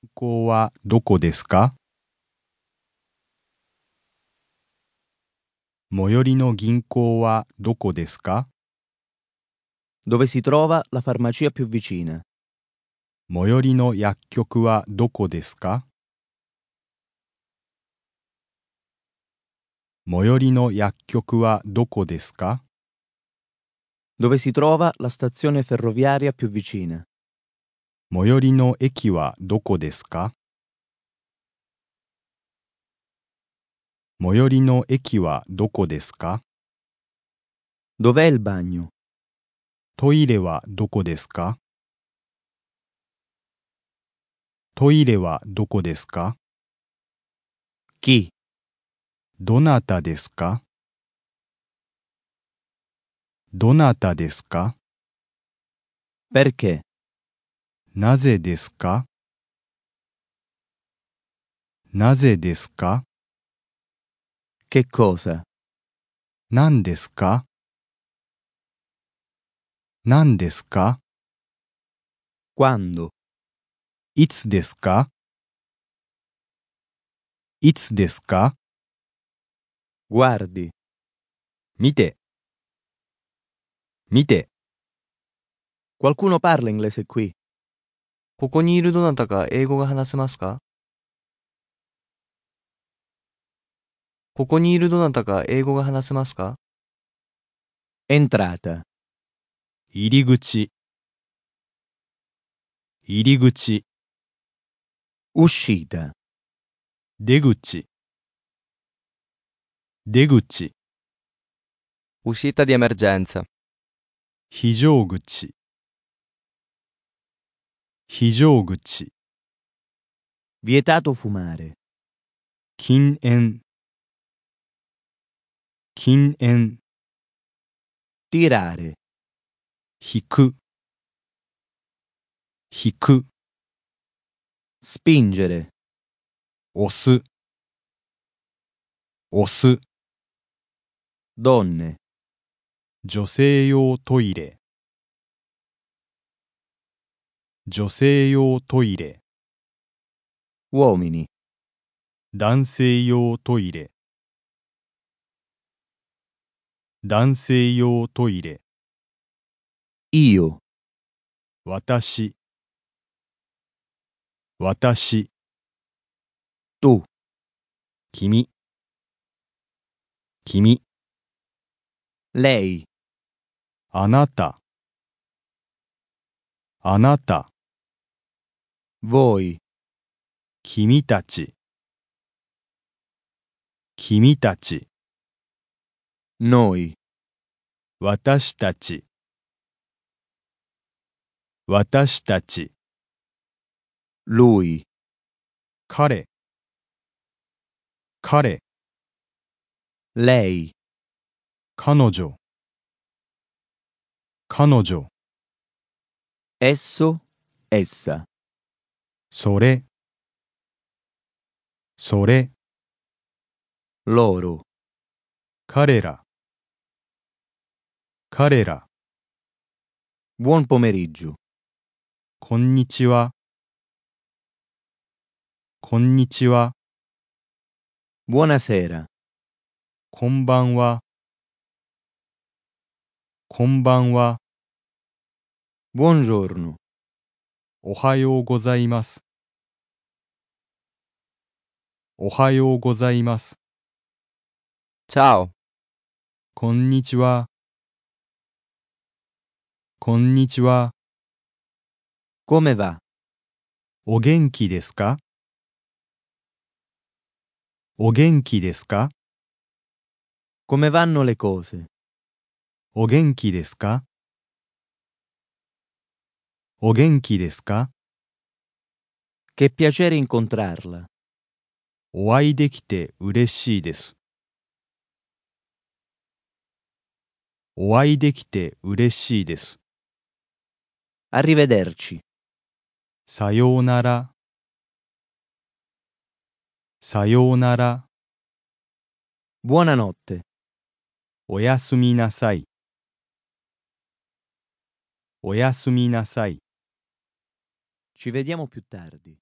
銀行はどこですか？最寄りの銀行はどこですか？ Dove si trova la farmacia più vicina? 最寄りの薬局はどこですか？最寄りの薬局はどこですか？ Dove si trova la stazione ferroviaria più vicina? 最寄りの駅はどこですか？最寄りの駅はどこですか？ Dov'è il bagno? トイレはどこですか？トイレはどこですか？ Chi? どなたですか？どなたですか？ Perché? なぜですか？なぜですか？ Che cosa? 何ですか？何ですか？ Quando? いつですか？いつですか？ Guardi. 見て、見て。 Qualcuno parla inglese qui? ここにいるどなたか英語が話せますか？ここにいるどなたか英語が話せますか？ Entrata. 入り口、入り口。 Uscita. 出口、出口。 Uscita di emergenza. 非常口、非常口。 Vietato fumare. 禁煙、禁煙。 Tirare. 引く、引く。 Spingere. 押す、押す。 Donne. 女性用トイレ、女性用トイレ。 Uomini. 男性用トイレ、男性用トイレ。 Io. 私、私。 Tu. 君、君。 Lei. あなた、あなた。 Voi. 君たち、君たち。 Noi. 私たち、私たち。 Lui. 彼、彼。 Lei. 彼女、彼女。 Esso. Essa. それ、それ。 Loro. 彼ら、彼ら。 Buon pomeriggio. こんにちは、こんにちは。 Buonasera. こんばんは、こんばんは。 Buongiorno. おはようございます、おはようございます。 Ciao. こんにちは、こんにちは。 Come va? お元気ですか？お元気ですか？ Come vanno le cose? お元気ですか？お元気ですか？ Che piacere incontrarla. お会いできて嬉しいです。お会いできて嬉しいです。 Arrivederci. さようなら、さようなら。 Buonanotte. おやすみなさい、おやすみなさい。 Ci vediamo più tardi.